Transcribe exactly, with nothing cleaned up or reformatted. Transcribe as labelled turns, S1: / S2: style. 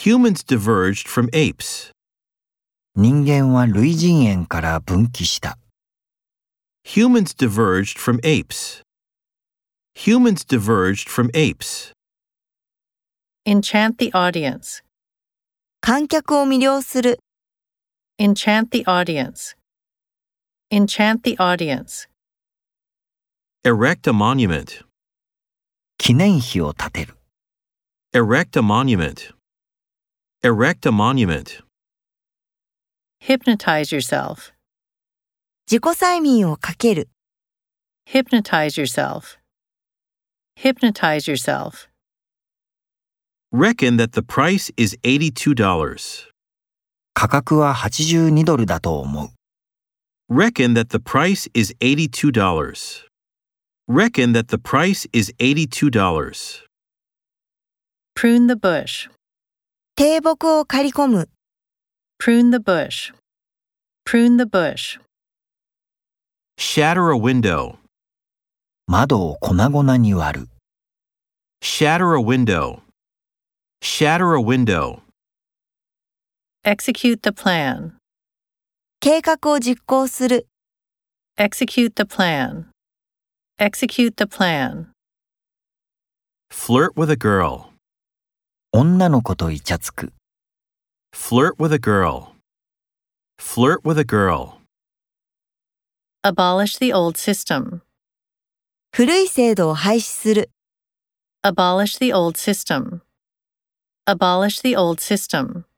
S1: Humans diverged from apes.
S2: 人間は類人猿から分岐した。
S1: Humans diverged from apes. Humans diverged from apes.
S3: Enchant the audience.
S4: 観客を魅了する。
S3: Enchant the audience. Enchant the audience.
S1: Erect a monument.
S2: 記念碑を建てる。
S1: Erect a monument. Erect a monument.
S3: Hypnotize yourself.
S4: 自己催眠をかける。
S3: Hypnotize yourself. Hypnotize yourself.
S1: Reckon that the price is eighty-two dollars.
S2: 価格ははちじゅうにドルだと思う。
S1: Reckon that the price is eighty-two dollars. Reckon that the price is eighty-two dollars.
S3: Prune the bush.
S4: 低木を刈り込む。
S3: Prune the bush. Prune the bush.
S1: Shatter a window.
S2: 窓を粉々に割る。
S1: Shatter a window. Shatter a window.
S3: Execute the plan.
S4: 計画を実行する。
S3: Execute the plan. Execute the plan.
S1: Flirt with a girl.
S2: 女の子とイチャつく。
S1: Flirt with a girl. Flirt with a girl.
S3: Abolish the old system.
S4: 古い制度を廃止する。
S3: Abolish the old system. Abolish the old system.